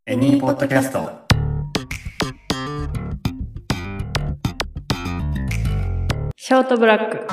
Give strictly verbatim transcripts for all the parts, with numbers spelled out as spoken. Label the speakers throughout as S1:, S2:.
S1: エニーポッドキャスト。
S2: ショートブラック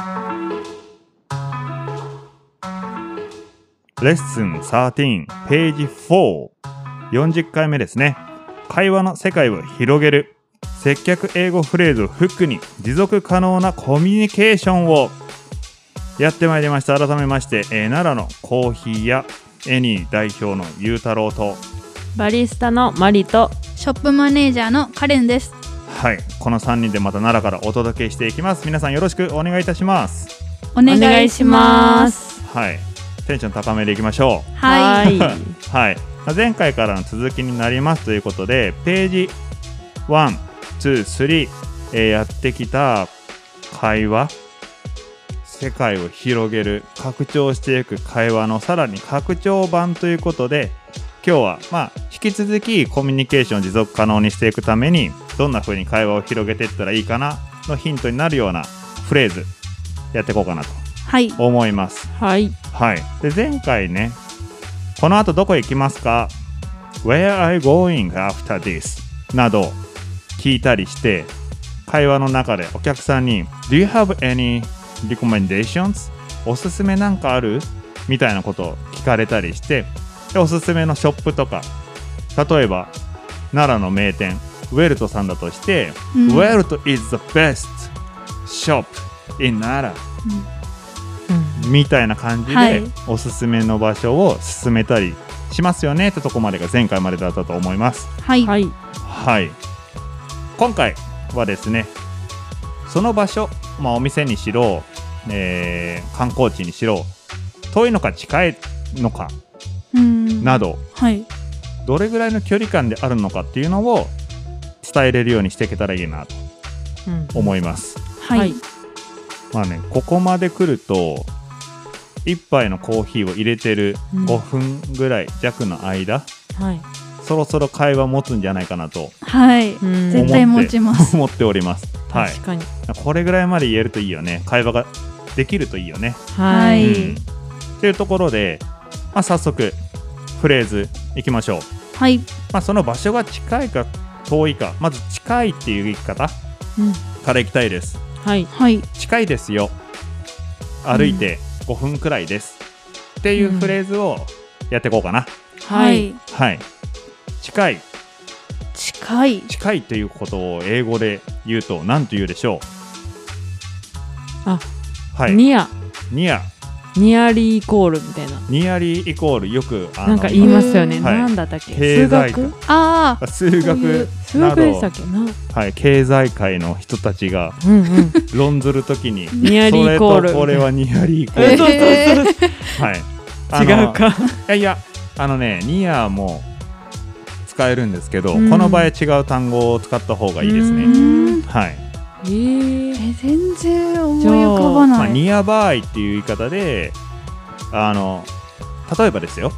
S3: レッスンじゅうさんページよん、よんじゅっかいめですね。会話の世界を広げる接客英語フレーズをフックに持続可能なコミュニケーションをやってまいりました。改めまして、えー、奈良のコーヒーやエニー代表のゆうたろうと
S2: バリスタのマリと
S4: ショップマネージャーのカレンです。
S3: はい、このさんにんでまた奈良からお届けしていきます。皆さんよろしくお願いいたします。
S4: お願いします。
S3: はい、テンション高めでいきましょう。
S4: はい。
S3: はい、前回からの続きになりますということで、ページいち、に、さん、えー、やってきた会話、世界を広げる拡張していく会話のさらに拡張版ということで、今日はまあ引き続きコミュニケーションを持続可能にしていくためにどんな風に会話を広げていったらいいかなのヒントになるようなフレーズやっていこうかなと思います。
S2: はい、
S3: はい、で前回ね、この後どこへ行きますか Where are you going after this など聞いたりして、会話の中でお客さんに Do you have any recommendations? おすすめなんかあるみたいなことを聞かれたりして、でおすすめのショップとか、例えば奈良の名店ウェルトさんだとして、うん、ウェルト is the best shop in 奈良、うん、みたいな感じで、はい、おすすめの場所を進めたりしますよねってとこまでが前回までだったと思います。
S4: はい、はい
S3: はい、今回はですね、その場所、まあ、お店にしろ、えー、観光地にしろ、遠いのか近いのかなど、はい、どれぐらいの距離感であるのかっていうのを伝えれるようにしていけたらいいなと思います。
S4: うん、はい。
S3: まあね、ここまで来ると一杯のコーヒーを入れてるごふんぐらい弱の間、うん、はい、そろそろ会話持つんじゃないかなと、
S4: はい、絶対持ちます
S3: 思っております。はい、
S2: 確かに
S3: これぐらいまで言えるといいよね。会話ができるといいよね。
S4: はい、
S3: うん、というところで、まあ、早速フレーズいきましょう。
S4: はい。
S3: まあ、その場所が近いか遠いか、まず近いっていう言い方、うん、からいきたいです。
S2: はい、
S4: はい、
S3: 近いですよ、歩いてごふんくらいです、うん、っていうフレーズをやっていこうかな。
S4: はい、
S3: はい、近い
S4: 近い
S3: 近いということを英語で言うと何と言うでしょ
S2: う。あ、
S3: はい、
S2: ニア
S3: ニア
S2: ニアリーイコールみたいな。
S3: ニアリーイコールよくあの
S2: なんか言いますよね。
S3: はい、
S2: なんだったっけ、
S3: 経済
S2: 数学、
S4: ああ
S3: 数学
S2: 数学でしたっけな、
S3: はい、経済界の人たちが
S2: うん、うん、
S3: 論ずるときに
S2: ニアリーイコール、
S3: それとこれはニアリーイコール、
S2: えー、
S3: はい、
S2: 違うか。
S3: いやいや、あのね、ニアも使えるんですけど、
S2: うん、
S3: この場合違う単語を使った方がいいですね。はい。
S2: えー、
S4: え全然思い浮かばない。
S3: まあ、ニアバイっていう言い方で、あの例えばですよ、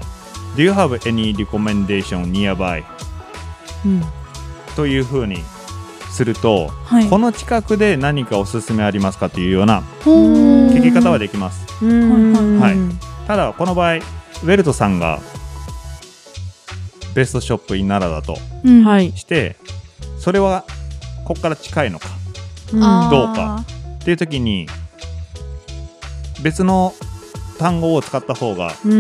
S3: Do you have any recommendation nearby、うん、という風にすると、はい、この近くで何かおすすめありますかというような聞き方はできます。はい、ただこの場合ウェルトさんがベストショップイン奈良だとして、うん、それはここから近いのか、うん、どうかっていう時に別の単語を使った方が、うん、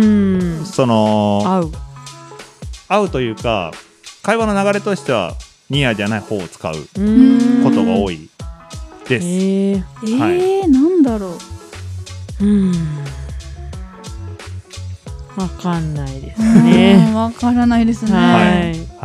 S3: その
S2: 合う
S3: 合うというか、会話の流れとしてはニアじゃない方を使うことが多いです。
S4: えー、はい、えー、なんだろう。
S2: うん、わかんないですね。
S4: わからないですね。
S3: はい、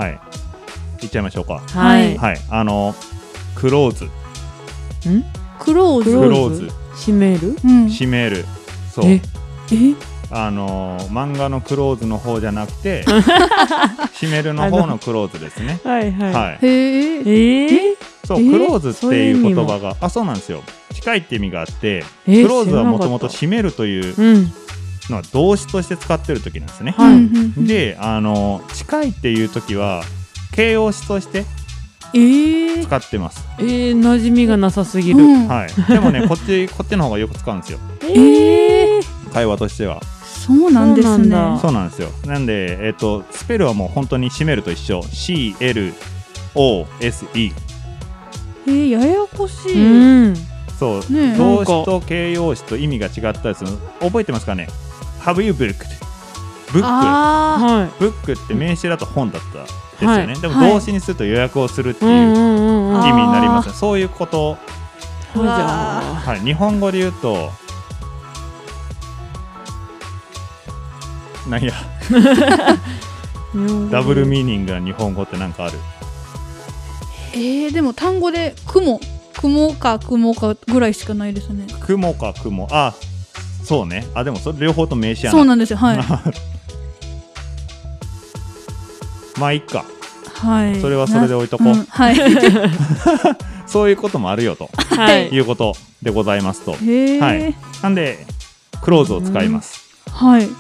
S3: はい、いっちゃいましょうか。
S2: はい、
S3: はい、あのクローズ、
S4: ん？クローズ、
S3: クローズ、
S2: 閉める、
S4: うん、
S3: 閉める、そう。
S2: ええ
S3: あのー、漫画のクローズの方じゃなくて閉めるの方のクローズですね。
S2: はいはい、
S3: はい、
S4: へ
S2: ーえ
S3: そう、クローズっていう言葉が、あ、そうなんですよ、近いって意味があって、クローズはもともと閉めるというのは動詞として使ってる時なんですね。
S2: はい、
S3: で、あのー、近いっていう時は形容詞として使ってます。
S2: えー、えー、馴染みがなさすぎる、うん、
S3: はい、でもねこっちこっちの方がよく使うんですよ。
S2: えー、
S3: 会話としては。
S4: そうなんですね。
S2: そうなんだ
S3: そうなんですよ。なんで、えっと、スペルはもう本当に閉めると一緒。シーエルオーエスイー。
S4: えー、ややこし
S2: う
S4: い。
S2: ん。
S3: そう、
S4: ねえ
S3: 動詞と形容詞と意味が違ったりする。覚えてますかね？ Have you booked? ブック。
S4: あ
S2: は
S3: ブックって名詞だと本だったですよね。
S2: はい
S3: でも
S4: はい
S3: 動詞にすると予約をするって
S2: い。
S3: いううん
S2: うんうんうん。
S4: あ
S3: 意味になりますね。そういうこと。
S4: うわ
S3: はい、日本語で言うと、なんや、ダブルミーニングな日本語ってなんかある？
S4: えー、でも単語で雲雲か雲かぐらいしかないですね。
S3: 雲か雲。あ、そうね。あ、でもそれ両方と名詞やな。
S4: そうなんですよ。はい
S3: まあいいか。
S4: はい。
S3: それはそれで置いとこう
S4: なんはい。
S3: そういうこともあるよと
S2: はい。
S3: いうことでございますと。
S4: へえ。
S3: はいなんでクローズを使います。
S4: はい。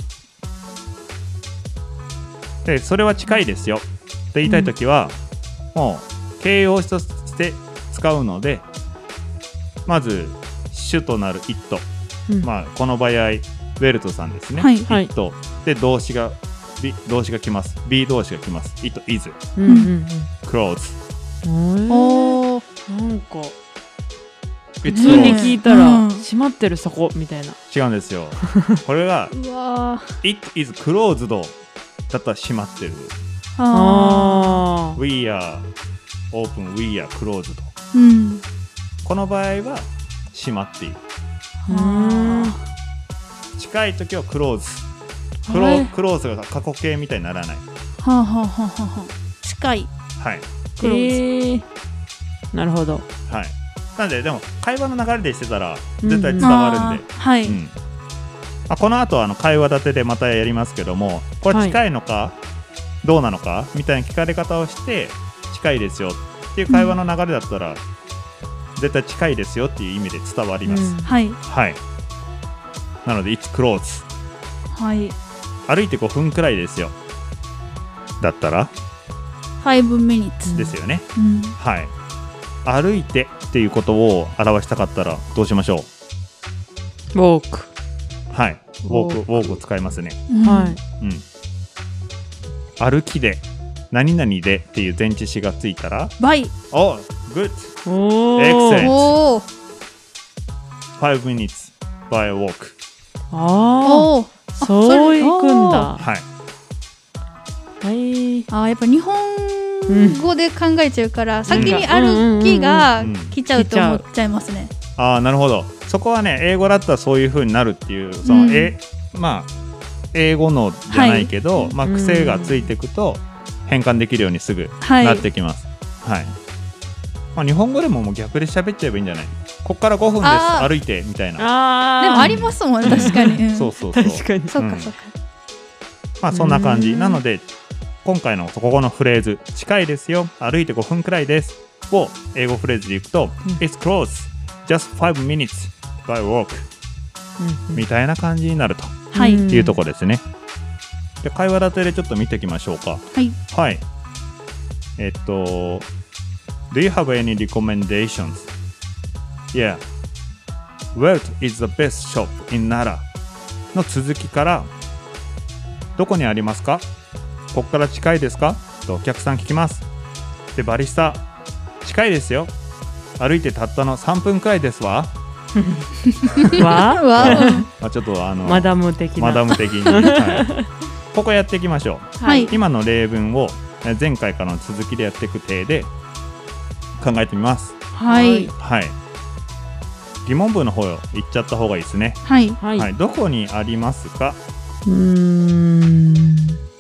S3: でそれは近いですよって言いたいときは、もう形容詞として使うので、まず主となる it、
S2: うん
S3: まあこの場合ウェルトさんですね、
S4: はい。
S2: はい
S3: it で動詞が B 動詞が来ます B 動詞が来ます it is
S2: うんうん
S3: close
S2: うん。
S4: おー。
S2: なんか
S3: It's
S2: 普通に
S3: close
S2: 聞いたら
S4: うん
S2: 閉まってるそこみたいな。
S3: 違うんですよこれが
S4: うわー。
S3: it is closed だったら閉まってる
S4: あ
S2: あ
S3: we are open we are closed
S4: ー。うん。
S3: この場合は閉まっている。
S2: あ。
S3: 近い時はクローズクロ,、
S2: はい
S3: クローズが過去形みたいにならない。
S4: はあはあはあはあはあ。近い。
S3: はい
S4: クローズ
S2: えー。なるほど。
S3: はいなんででも会話の流れでしてたら
S2: うん
S3: 絶対伝わるんで、
S4: あーはい。
S3: うんまあ、この後はあの会話立てでまたやりますけども、これ近いのか、どうなのかみたいな聞かれ方をして近いですよっていう会話の流れだったら、絶対近いですよっていう意味で伝わります、
S2: うん
S4: はい。
S3: はいなので It's close
S4: はい。
S3: 歩いてごふんくらいですよだったら
S4: ファイブミニッツ。
S3: ですよね、
S4: うん。
S3: はい歩いてっていうことを表したかったらどうしましょう？
S2: ウォーク。
S3: はいウォーク
S2: ウォーク
S3: ウォークを使いますね。
S4: うん
S2: はい。
S3: うん歩きで何々でっていう前置詞がついたら
S4: バイ。
S3: お good
S2: おー。
S3: Excellent
S4: おー。
S3: five minutes by walk
S2: あ
S4: おー。
S2: あ。そういくんだ。
S3: はい
S2: はい。
S4: あーやっぱ日本語で考えちゃうから、先に歩きが来ちゃうと思っちゃいますね。
S3: ああなるほどそこはね英語だったらそういう風になるっていうその、
S4: うん
S3: えまあ英語のじゃないけど、まあ、
S2: うん
S3: 癖がついていくと変換できるようにすぐ
S4: はい。
S3: なってきます。はい。まあ、日本語でももう逆で喋っちゃえばいいんじゃない？こっからごふんです
S4: あー
S3: 歩いてみたいな。
S2: ああ。
S4: でもありますもんね、確かに。うん
S3: そうそうそう。
S2: 確かに。
S3: うん
S4: そっかそっか。
S3: まあそんな感じ。
S2: うん
S3: なので今回のここのフレーズ近いですよ歩いてごふんくらいですを英語フレーズでいくと、
S2: うん
S3: It's close just five minutes by walk
S2: うん
S3: みたいな感じになると
S4: はい。
S2: うん
S3: いうところですね。で会話立てでちょっと見ていきましょうか。
S4: はい。
S3: はい。えっと、Do you have any recommendations? Yeah. Where is the best shop in Nara? の続きから、どこにありますか？ここから近いですか？とお客さん聞きます。で、バリスタ、近いですよ。歩いてたったのさんぷんくらいですわ。
S2: わ
S4: わ
S3: まあ、ちょっとあの、
S2: マダム的な。
S3: マダム的に、はい、ここやっていきましょう。
S4: はい。
S3: 今の例文をえ前回からの続きでやっていく体で考えてみます。
S4: はい。
S3: はい。疑問文の方を言っちゃった方がいいですね。
S4: はい。
S2: はい。
S3: はい。どこにありますか？
S2: うーん。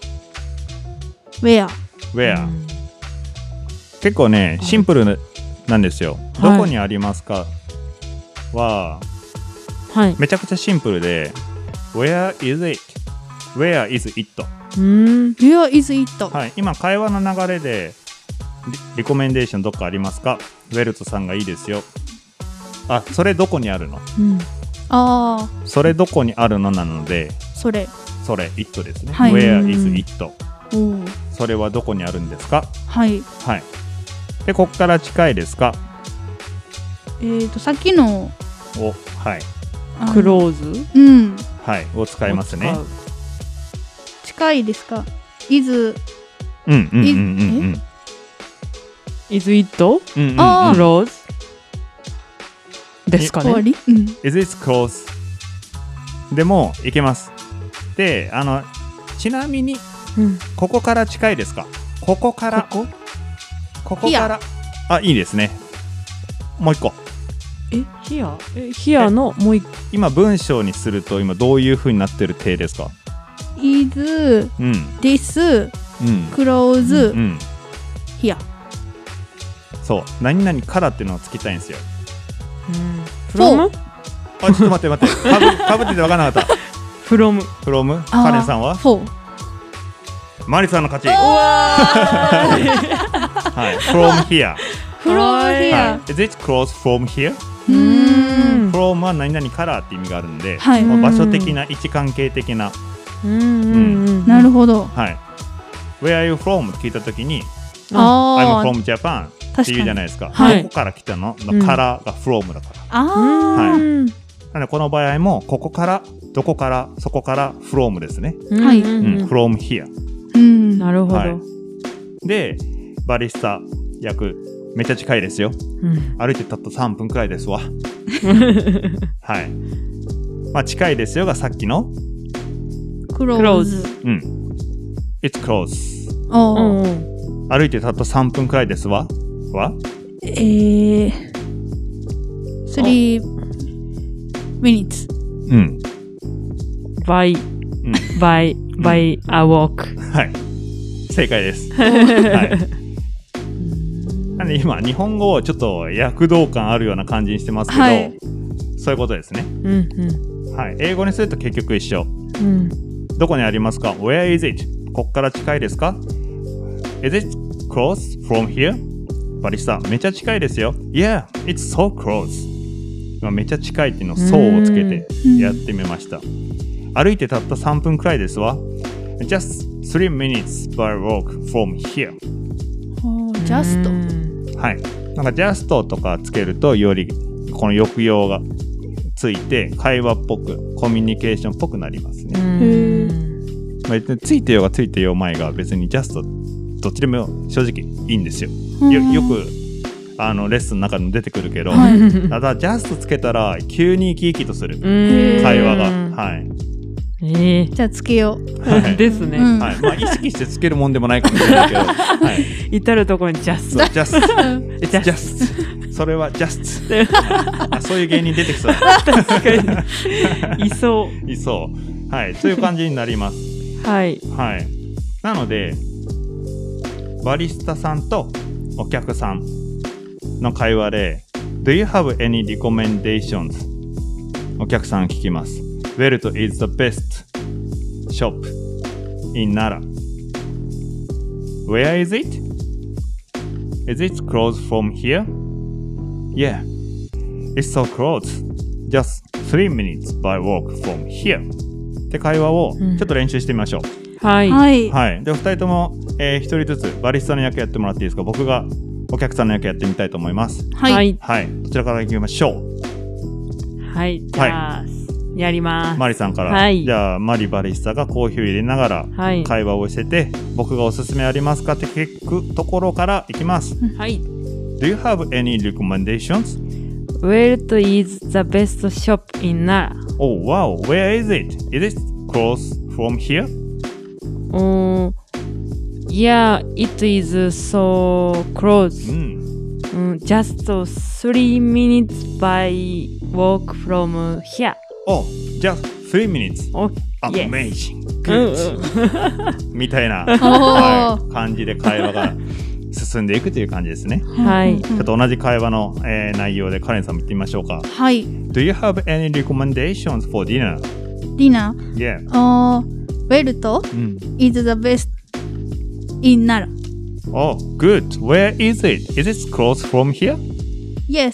S4: Where?
S3: Where？、結構ねシンプルなんですよ。
S2: はい
S3: どこにありますかは
S2: はい。
S3: めちゃくちゃシンプルで Where is it? Where is it?
S2: うーん。
S4: Where is it?
S3: はい。今会話の流れでリリコメンデーションどっかありますか？ウェルトさんがいいですよ。あ、それどこにあるの？
S2: うん。
S4: ああ、
S3: それどこにあるのなので、
S4: それ。
S3: それ it ですね。
S4: はい
S3: Where is it?
S4: おー
S3: それはどこにあるんですか？
S4: はい。
S3: はい。で、こっから近いですか？
S4: えっと、さっきの、
S3: お、はい。
S4: あの
S2: クローズ。
S4: うん。
S3: ははいを使いますね。
S4: 近いですか？ is
S3: うんうんうんうんうん。
S2: is it
S3: うんうんうん。
S4: あー
S2: close ですかね。
S4: 終わり、うん、
S3: Is it close? でもいけます。で、あのちなみに
S2: うん
S3: ここから近いですか？ここから
S2: ここ
S3: ここからあ、いいですね。もう一個。
S2: え here え here のもう一個
S3: 今文章にすると今どういう風になってる体ですか？
S4: is
S3: うん
S4: this
S3: うん
S4: close、
S3: うん。
S4: here。
S3: そう何々からっていうのをつけたいんですよ。
S2: うん
S4: from
S2: from
S3: あ、ちょっと待って待って。かぶかぶってて分からなかった。
S2: from
S3: from カレンさんは
S4: for
S3: マリさんの勝ち。
S2: うわ
S3: はい。from here。
S4: from
S2: はい
S4: here、
S3: はい。Is it close from here?
S4: うーん
S3: from は何々からって意味があるんで、
S4: はい
S3: まあ場所的な位置関係的な、
S2: うんうんうん
S4: なるほど。
S3: はい。Where are you from? って聞いたときに、
S4: あ
S3: I'm
S4: あ
S3: from Japan って
S4: 確かに
S3: 言うじゃないですか。
S2: はい
S3: どこから来たののからが from だから。
S4: あ
S3: はい
S2: うん
S3: なのでこの場合もここからどこからそこから from ですね。
S4: はい
S2: うんうん
S3: うん
S2: うん
S3: from here。
S4: ーうん
S2: なるほど、
S3: はいで、バリスタ役めっちゃ近いですよ。
S2: うん
S3: 歩いてたったさんぷんくらいですわ。はい。まあ近いですよがさっきの、
S4: close
S3: うん。It's close。
S4: おー
S2: うんうん
S3: 歩いてたったさんぷんくらいですわ。は
S4: えー、three minutes
S3: うん。
S2: by
S3: うん
S2: by by a walk
S3: はい。正解です。はい。なんで今、日本語をちょっと躍動感あるような感じにしてますけど、
S4: はい
S3: そういうことですね。
S2: うんうん
S3: はい。英語にすると結局一緒。
S2: うん
S3: どこにありますか？ Where is it? こっから近いですか？ Is it close from here? バリスタ、めっちゃ近いですよ。Yeah, it's so close. 今めっちゃ近いっていうのを so をつけてやってみました。歩いてたったさんぷんくらいですわ。Just three minutes by walk from here.
S4: おー just
S2: うん
S3: はい。なんか just とかつけるとよりこの抑揚がついて会話っぽくコミュニケーションっぽくなりますね。
S2: うん
S3: まあ、ついてようがついてよう前が別に just どっちでも正直いいんですよ。よよくあのレッスンの中でも出てくるけど、
S4: はい
S3: ただ just つけたら急に生き生きとする
S2: うん
S3: 会話が、はい
S2: え
S4: じゃあつけよう。
S3: はい
S2: ーですね、
S4: うん
S3: はい、まあ意識してつけるもんでもないかもしれないけど、はい、
S2: 至るところにジャス
S3: そう just it's
S2: Just
S3: just それは just あそういう芸人出てきそう
S2: 確かにいそう
S3: いそうはいそういう感じになります
S2: はい
S3: はいなのでバリスタさんとお客さんの会話で Do you have any recommendations? お客さん聞きます Where is the best shop in Nara? Where is it? Is it close from here? Yeah, it's so close. Just three minutes by walk from here. って会話をちょっと練習してみましょう。
S2: はい
S4: はい。
S3: はい。で、お二人とも、えー、一人ずつバリスタの役やってもらっていいですか？僕がお客さんの役やってみたいと思います。
S4: はい。
S2: はい
S3: はい。どちらから行きましょう。
S2: はいじゃあ、やります
S3: マリさんから。
S2: はい
S3: じゃあ、マリバリスタがコーヒーを入れながら
S2: はい
S3: 会話をしてて、僕がおすすめありますかって聞くところからいきます。
S2: はい
S3: Do you have any recommendations?
S2: Where is the best shop in Nara?
S3: Oh, wow. Where is it? Is it close from here?
S2: Oh, yeah, it is so close.
S3: うん。
S2: Mm, just three minutes by walk from here.
S3: Oh, just three minutes.
S2: Oh, yes.
S3: Amazing.
S2: うん
S3: Good. みたいな、
S4: おー
S3: はい、感じで会話が進んでいくという感じですね。
S2: はい
S3: ちょっと同じ会話の、えー内容でカレンさんも言ってみましょうか。
S4: はい。
S3: Do you have any recommendations for dinner?
S4: ディナー。
S3: Yeah.
S4: あー、ウェルト
S3: うん。
S4: is the best in Nara.
S3: Oh, good. Where is it? Is it close from here?
S4: Yes.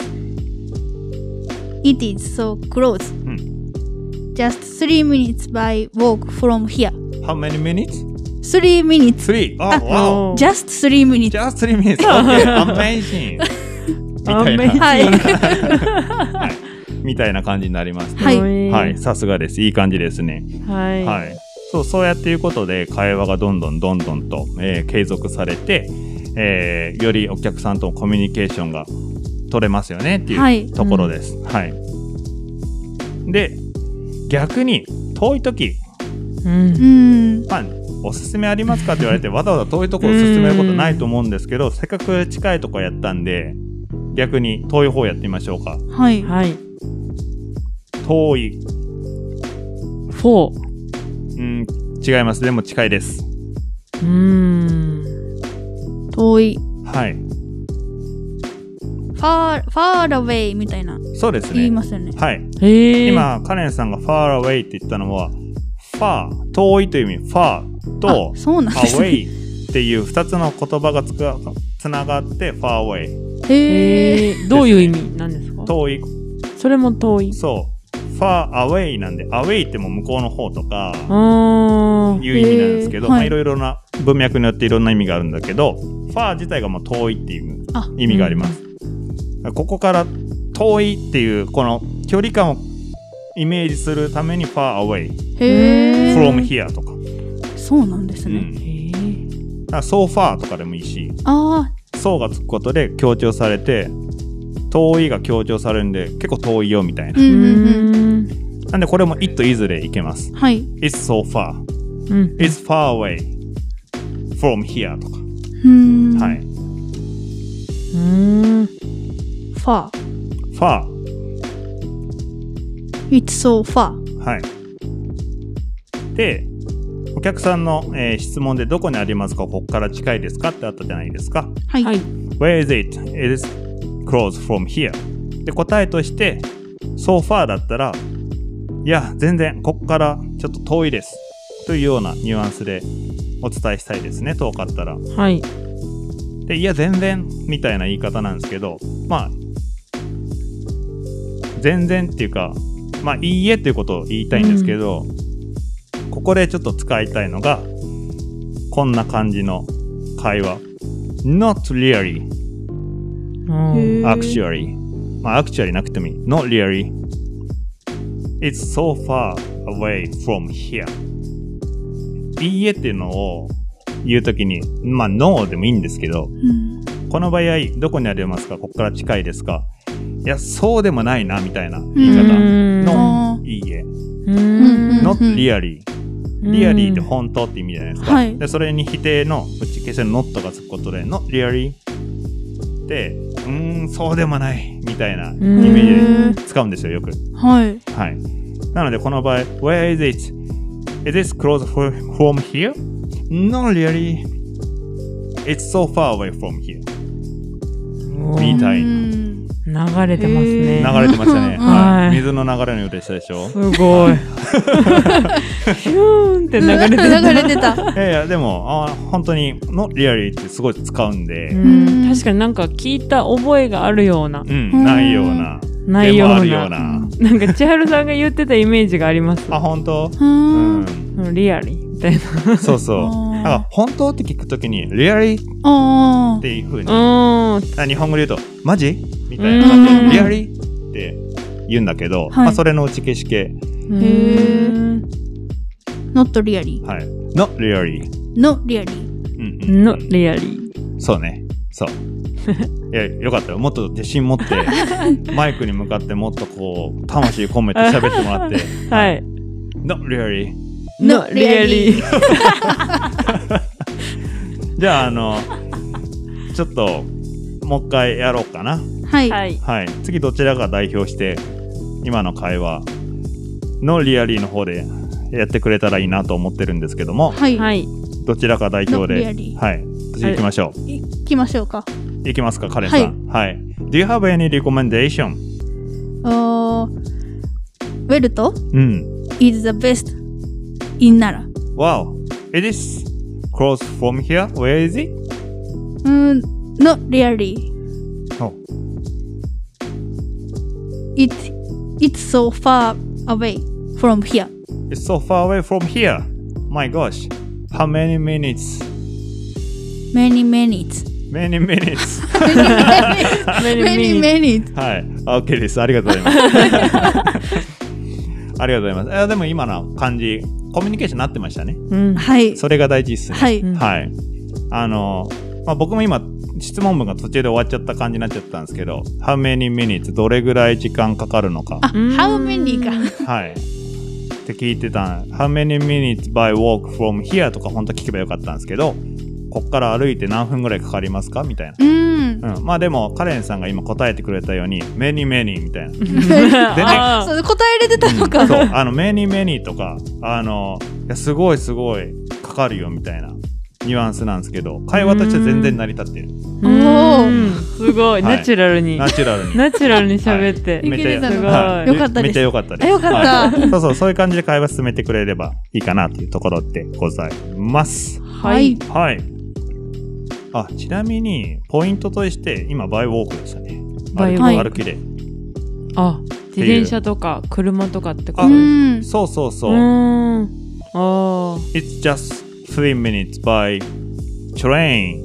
S4: It is so close.
S3: うん。
S4: Just three minutes by walk from here.
S3: How many minutes?
S4: Three minutes.
S3: Three. Oh,
S4: あ
S3: wow.
S4: Just three minutes.
S3: Just three minutes. Okay, amazing. みたいな。
S4: はい。
S3: はい。 みたいな感じになりますね。
S4: はい
S3: はい、さすがです。いい感じですね。
S2: はい。
S3: はい。そう、そうやっていうことで会話がどんどんどんどんと、えー継続されて、えーよりお客さんとのコミュニケーションが取れますよねって
S4: はいいう
S3: ところです。はい。で、逆に遠い時、
S2: うん
S4: う。ん。
S3: まあ、おすすめありますかって言われてわざわざ遠いところを勧めることないと思うんですけど、せっかく近いところやったんで逆に遠い方やってみましょうか。
S4: はい。
S2: はい。
S3: 遠い、
S2: フォー。
S3: うん違います。でも近いです。
S2: うーん。
S4: 遠い。
S3: はい、
S4: far, far away みたいな
S3: そうですね。
S4: 言いますよね。
S3: はい、
S2: へえ。
S3: 今カレンさんが far away って言ったのは far 遠いという意味 far と
S4: あ、そうなんですね。
S3: away っていうふたつの言葉がつかつながって far away
S4: へえ。
S2: へえ。どういう意味なんですか？
S3: 遠い。
S2: それも遠い。
S3: そう far away なんで away ってもう向こうの方とか
S2: あ
S3: いう意味なんですけど、
S4: へーはい
S3: まあいろいろな文脈によっていろんな意味があるんだけど、ファー自体がもう遠いっていう
S4: あ、
S3: 意味があります。ここから遠いっていうこの距離感をイメージするために far away
S4: へえ。
S3: from here とか、
S4: そうなんですね。
S3: うん、
S2: ー。へえ。
S3: だから so far とかでもいいし、
S4: あ
S3: so がつくことで強調されて遠いが強調されるんで結構遠いよみたいな
S4: あ。う、ん
S2: う
S4: うんうん。
S2: ん。
S3: なんでこれも it いずれいけます。
S4: はい。
S3: It's so far
S2: うん。
S3: It's far away from here とか、
S4: うーん。
S3: はい。
S2: うーん。
S4: far.
S3: far
S4: It's so far.
S3: はい。で、お客さんの、えー質問でどこにありますか、ここから近いですかってあったじゃないですか。
S4: はい。
S2: はい。
S3: Where is it? It is close from here. で、答えとして、so far だったら、いや、全然、ここからちょっと遠いです。というようなニュアンスでお伝えしたいですね、遠かったら。
S2: はい。
S3: で、いや、全然、みたいな言い方なんですけど、まあ、全然っていうか、まあ、いいえっていうことを言いたいんですけど、ここでちょっと使いたいのが、こんな感じの会話。not really,
S2: うん。
S3: actually. まあ、actually なくてもいい。not really. It's so far away from here. いいえっていうのを言うときに、まあ、no でもいいんですけど、
S4: うん。
S3: この場合、どこにありますか？ここから近いですか？いや、そうでもないな、みたいな言い方
S2: うん
S3: の
S4: あ
S3: いいえ。
S2: うん
S3: not really。
S2: うん
S3: really って本当って意味じゃないですか。
S4: はい
S3: で、それに否定の打ち消せの not がつくことで、not really で、うーん、そうでもない、みたいなイメージで使うんですよ、よく。
S4: はい。
S3: はい。なので、この場合、where is it? Is this close for- from here? Not really. It's so far away from here. みたいな。
S4: うん
S2: 流れてますね。
S4: へー
S3: 流れてましたね。
S2: はい
S3: はい。水の流れのようでしたでしょ。
S2: すごい。ヒューンって流れてる。
S4: 流れてた。
S3: いやいや、でも、あ本当に、not really ってすごい使うんで、
S2: う
S3: うん、
S2: ん、確かになんか聞いた覚えがあるような、
S3: ないような、
S2: ないような。
S3: でもあるような。
S2: なんか千春さんが言ってたイメージがあります。
S3: あ、本当？
S4: う
S3: うん
S4: ん。
S2: うんリアリーみたいな。
S3: そうそう。
S4: あー
S3: だから、本当って聞くときに、really
S4: ああ。
S3: っていう風に、
S2: うん。
S3: あ日本語で言うと、マジみたいな感じ
S4: うん
S3: で、really って言うんだけど、
S4: はい
S3: まあ、それの打ち消し系。
S2: へ
S4: ー not really.
S3: はい。not really.
S4: not really.
S3: うんうん。
S2: のリアリー。
S3: そうね。そう。いや、よかったよ。もっと自信持って、マイクに向かってもっとこう、魂込めて喋ってもらって。
S2: はい。
S3: not really.
S2: Not really.
S3: じゃあ、あの、ちょっと、もう一回やろうかな。
S4: はい。
S2: はい。
S3: はい。次、どちらが代表して、今の会話、のリアリーの方でやってくれたらいいなと思ってるんですけども、
S4: はい。
S2: はい。
S3: どちらか代表
S4: Not
S3: で、
S4: really.
S3: はい。次行きましょう。
S4: 行きましょうか。
S3: 行きますか、カレンさん。はい。Do you have any recommendation?
S4: あーウェルト
S3: うん。
S4: is the best in 奈良。
S3: Wow. It is close from here. Where is it?
S4: うん、not really.
S3: Oh.
S4: It, it's so far away from here.
S3: It's so far away from here. My gosh. How many minutes?
S4: Many minutes.
S3: many minutes
S4: メニメニ
S3: はい OK です。ありがとうございますありがとうございます。えでも今の感じコミュニケーションになってましたね、
S2: うん、
S4: はい
S3: それが大事ですね。
S4: はい、
S3: はい、あの、まあ、僕も今質問文が途中で終わっちゃった感じになっちゃったんですけど How many minutes どれぐらい時間かかるのか
S4: あ How many か
S3: はいって聞いてた How many minutes by walk from here とか本当聞けばよかったんですけどこっから歩いて何分ぐらいかかりますかみたいな、
S4: うん
S3: うん、まあでもカレンさんが今答えてくれたように many many みたいなでね
S4: そう答えれてたのか、
S3: うん、そうあの many many とかあのいやすごいすごいかかるよみたいなニュアンスなんですけど会話としては全然成り立ってる。
S4: おー
S2: すごい、はい、ナチュラルに
S3: ナチュラルに
S2: ナチュラルに喋って、
S3: はい、
S4: めっちゃすごい、
S3: はい、
S4: よかったです。
S3: めっちゃよかったです。
S4: よかった、
S3: はい、そうそうそういう感じで会話進めてくれればいいかなというところでございます。
S2: はい
S3: はい。あちなみにポイントとして今バイウォークでしたね。
S2: バイウ
S3: ォーク歩きで。
S2: あ自転車とか車とかってこと
S3: です。そうそうそう。う
S2: ーんあ
S3: It's just three minutes by train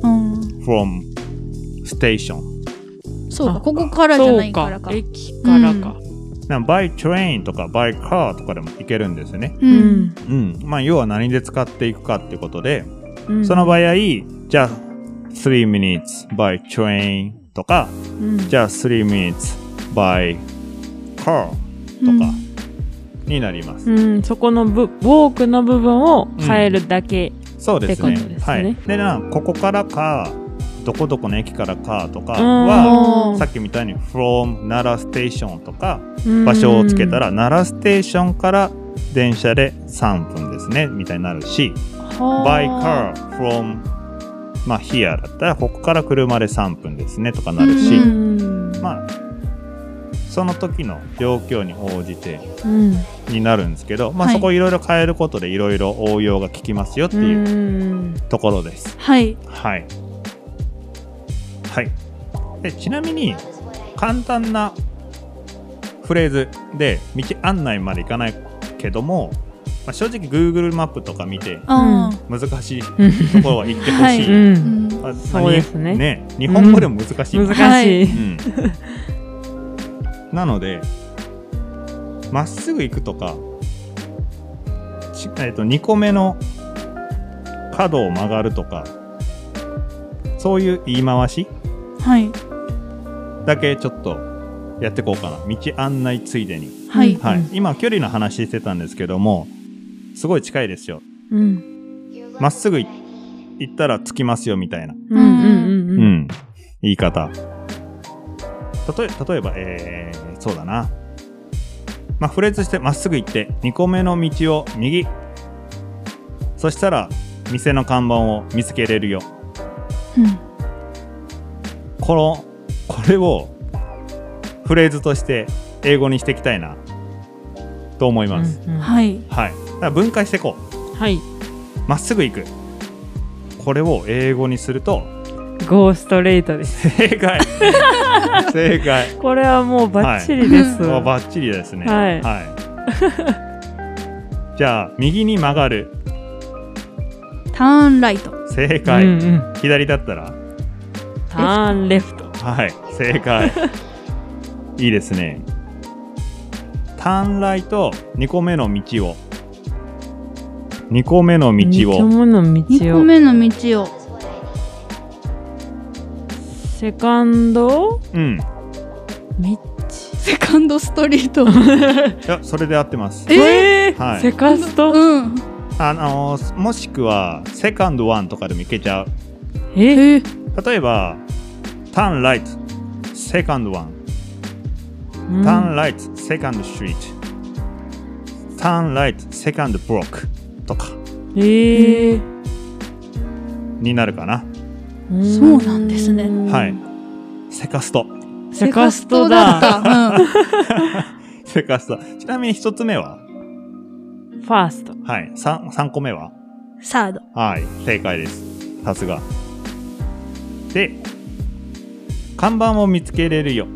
S3: from station。
S4: そうかここからじゃないからか。
S2: 駅からか。
S3: なん by train とか by car とかでも行けるんですよね。
S4: うん。
S3: うん。まあ要は何で使っていくかってことで、
S2: うん、
S3: その場合じゃあthree minutes by train とか、うん、じゃあthree minutes by car とかになります。
S2: うん、そこのブウォークの部分を変えるだけ、うん、
S3: そうですね。はい。でなここからかどこどこの駅からかとかはさっきみたいに from 奈良ステーションとか場所をつけたら奈良ステーションから電車でさんぷんですねみたいになるし by car from まあ here だったらここから車でさんぷんですねとかなるしまあその時の状況に応じてになるんですけど、まあ、そこいろいろ変えることでいろいろ応用が効きますよっていうところです。
S4: はい
S3: はいはい、でちなみに簡単なフレーズで道案内までいかないけども、まあ、正直 Google マップとか見て難しいところは行ってほしい、はいうんまあ、
S2: そうですね、
S3: ね日本語でも難しい、
S2: うん、難しい、
S3: うん、なのでまっすぐ行くとか、えっと、にこめの角を曲がるとかそういう言い回し
S4: はい
S3: だけちょっとやっていこうかな。道案内ついでに、
S4: はい
S3: はい、今距離の話してたんですけどもすごい近いですよ。ま、うん、っすぐ行ったら着きますよみたいな、
S2: うんうんうんうんうん、
S3: 言い方例え、例えば、えー、そうだな、まあ、フレーズしてまっすぐ行ってにこめの道を右そしたら店の看板を見つけれるよ、
S4: うん、
S3: このこれをフレーズとして英語にしていきたいなと思います、
S2: うんうん、
S4: はい、
S3: はい、だから分解していこ
S2: う。はい、
S3: まっすぐ行くこれを英語にすると
S2: ゴーストレートです。
S3: 正解正解
S2: これはもうバッチリです、
S3: はい、もうバッチリですね。
S2: はい、
S3: はい、じゃあ右に曲がる
S4: ターンライト
S3: 正解、うんうん、左だったら
S2: ターンレフト
S3: はい正解いいですね。ターンライトにこめの道をにこめの道を
S2: にこめの道を
S4: にこめの道を
S2: セカンド
S3: うん
S2: 道
S4: セカンドストリート
S3: いやそれで合ってます。
S2: えー
S3: はい、
S2: セカスト、
S4: うん
S3: あのー、もしくはセカンドワンとかでもいけちゃう。
S2: え
S3: 例えばターンライトセカンドワンターンライトセカンドストリートターンライトセカンドブロックとか
S2: えー、
S3: になるかな。
S4: そうなんですね。
S3: はいセカスト
S2: セカストだ、
S4: うん、
S3: セカスト。ちなみに一つ目は
S2: ファースト。
S3: はい 3, 3個目は
S4: サード。
S3: はい正解です。さすがで看板を見つけれるよ。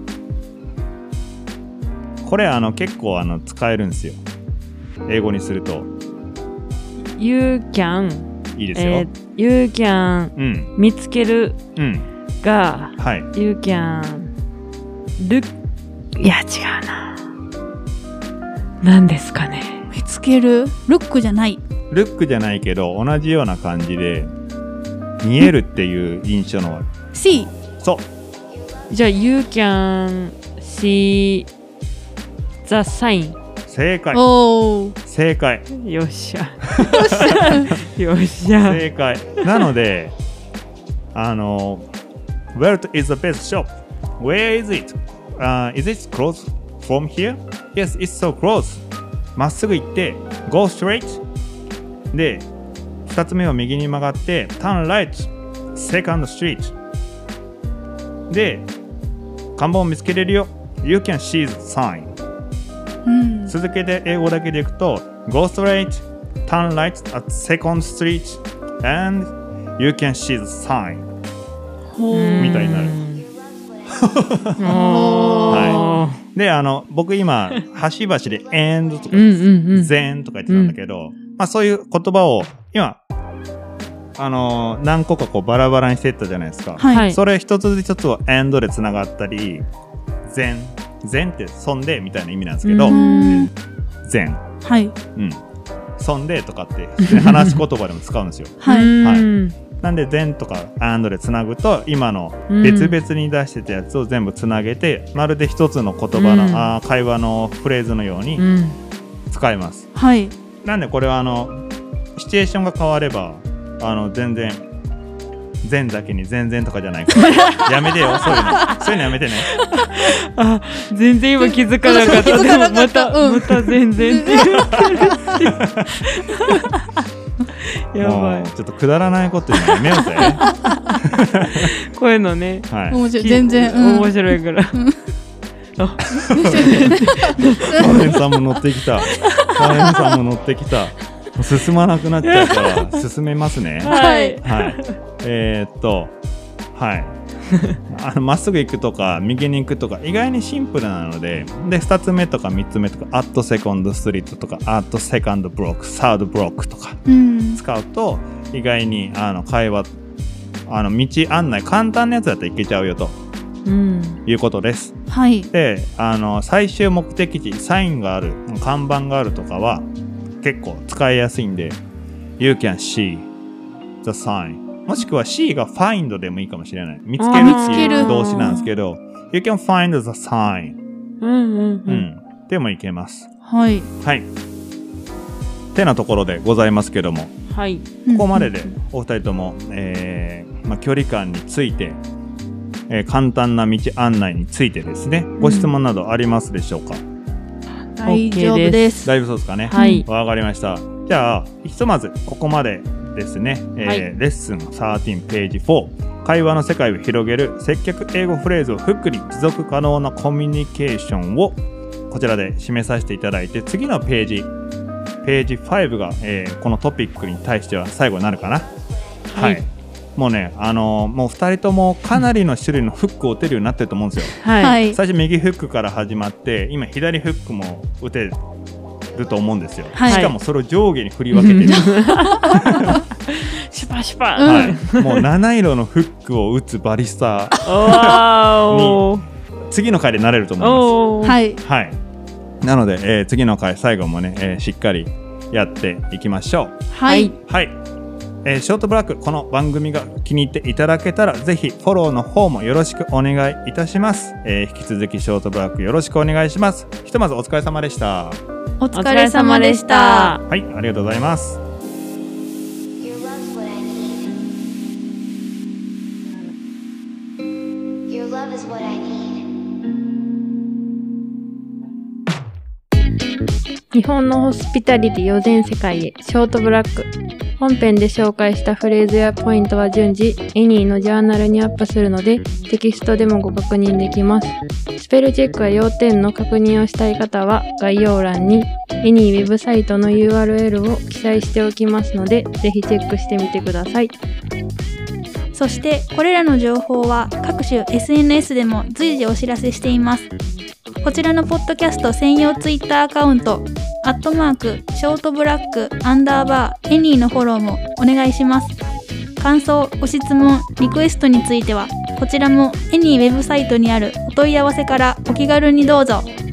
S3: これあの結構あの使えるんですよ。英語にすると
S2: You can
S3: いいですよ、
S2: えー、 You can
S3: うん、
S2: 見つける
S3: うん、
S2: が、
S3: はい。
S2: You can look いや違うな。何ですかね。
S4: 見つけるルックじゃない。
S3: ルックじゃないけど同じような感じで見えるっていう印象の
S4: See
S3: そう
S2: じゃあ You can see the sign
S3: 正解
S4: おー
S3: 正解
S2: よっしゃよっしゃ
S3: 正解なのであの Where is the best shop? Where is it? Uh, is it close from here? Yes, it's so close まっすぐ行って Go straight でふたつめを右に曲がって Turn right Second street で看板を見つけれるよ You can see the sign、うん、続けて英語だけでいくと Go straight Turn right at second street and you can see the sign みたいになるはい、であの僕今端々で and とか then とか言ってたんだけど、うんまあ、そういう言葉を今あのー、何個かこうバラバラにしていったじゃないですか、はい、それ一つ一つを and でつながったり then then ってそんでみたいな意味なんですけど then
S4: はい、うん、
S3: そんでとかって話し言葉でも使うんですよ
S4: はい、はい、
S3: なんで then とか and でつなぐと今の別々に出してたやつを全部つなげて、うん、まるで一つの言葉の、うん、あ会話のフレーズのように使います、
S4: うん、はい
S3: なんでこれはあのシチュエーションが変わればあの全然全だけに全然とかじゃないからやめてよそういうのそういうのやめてね
S2: あ全然今気づかなかったでもまた、うん、また全然って言ってるやばい
S3: ちょっとくだらないこと言うのやめようぜ
S2: こういうのね、
S3: はい、
S4: 面白い全然、
S2: うん、面白いから、うん
S3: あカレンさんも乗ってきたカレンさんも乗ってきた進まなくなっちゃうから進めますね
S2: はい、
S3: はい、えー、っとはいあのまっすぐ行くとか右に行くとか意外にシンプルなのででふたつめとかみっつめとか at second street とか at second block third block とか使うと、うん、意外にあの会話あの道案内簡単なやつだったらいけちゃうよとうん、いうことです。
S4: はい。
S3: で、あの最終目的地サインがある、看板があるとかは結構使いやすいんで、You can see the sign。もしくは see が find でもいいかもしれない。見つけるっていう動詞なんですけど、You can find the sign。
S2: うんうんうん。うん、
S3: でもいけます。
S4: はい。
S3: はい。てなところでございますけども、
S2: はい。
S3: ここまででお二人とも、えーまあ、距離感について。えー、簡単な道案内についてですね、ご質問などありますでしょうか？うん、
S4: 大丈夫です。
S3: 大丈夫そうですかね。
S2: はい。
S3: わかりました。じゃあひとまずここまでですね、えーはい、レッスンじゅうさんページよん会話の世界を広げる接客英語フレーズをフックに持続可能なコミュニケーションをこちらで締めさせていただいて次のページページごが、えー、このトピックに対しては最後になるかな。はい、はいもうね、あのー、もうふたりともかなりの種類のフックを打てるようになってると思うんですよ、
S2: はい、
S3: 最初右フックから始まって今左フックも打てると思うんですよ、はい、しかもそれを上下に振り分けてる
S2: シュパシュパ、
S3: はい、もう七色のフックを打つバリスタに次の回でなれると思います、
S4: はい
S3: はい、なので、えー、次の回最後もね、えー、しっかりやっていきましょう。
S4: はい、
S3: はいえー、ショートブラックこの番組が気に入っていただけたらぜひフォローの方もよろしくお願いいたします、えー、引き続きショートブラックよろしくお願いします。ひとまずお疲れ様でした。
S4: お疲れ様でした。
S3: はい、ありがとうございます。
S2: 日本のホスピタリティを全世界へショートブラック本編で紹介したフレーズやポイントは順次エニーのジャーナルにアップするのでテキストでもご確認できます。スペルチェックや要点の確認をしたい方は概要欄にエニーウェブサイトの ユーアールエル を記載しておきますのでぜひチェックしてみてください。
S4: そしてこれらの情報は各種 エスエヌエス でも随時お知らせしています。こちらのポッドキャスト専用ツイッターアカウントアットマークショートブラックアンダーバーエニーのフォローもお願いします。 感想、ご質問、リクエストについては、こちらもエニーウェブサイトにあるお問い合わせからお気軽にどうぞ。